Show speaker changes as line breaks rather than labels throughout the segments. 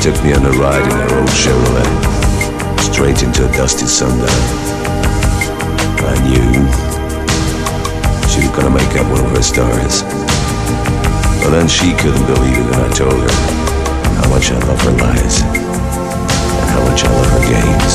took me on a ride in her old Chevrolet, straight into a dusty sundown. I knew she was gonna make up one of her stars. But then she couldn't believe it when I told her how much I love her lies and how much I love her games.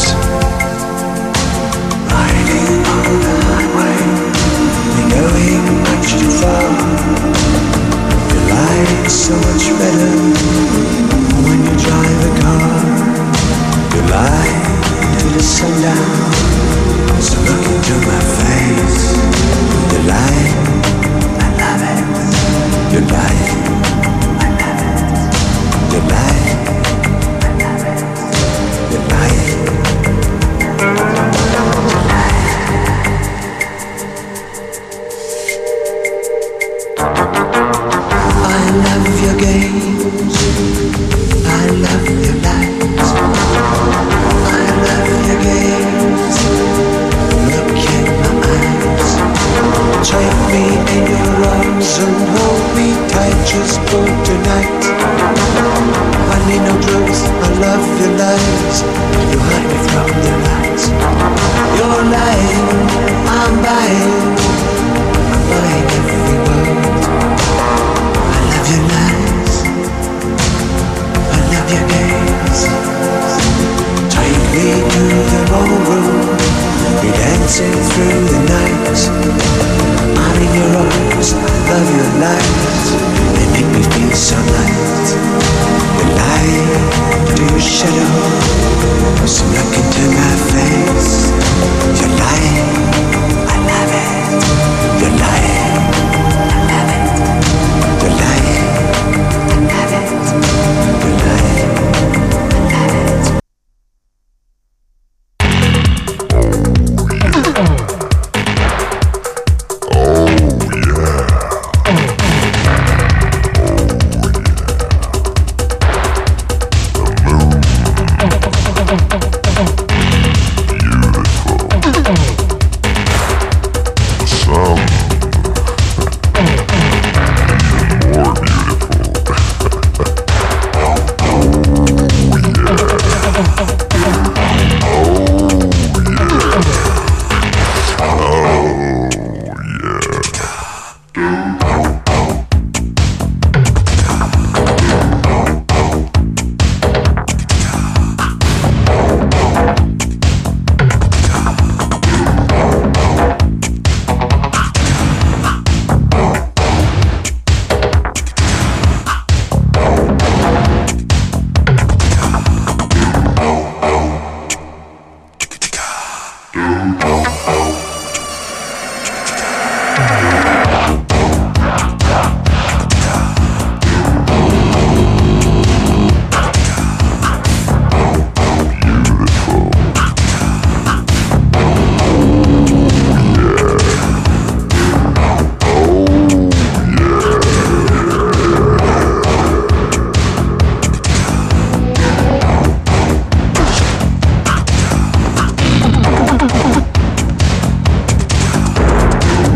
Riding on the highway, knowing much too far. Your life's so much better when you drive a car. You lie to the sundown, so look into my face. You lie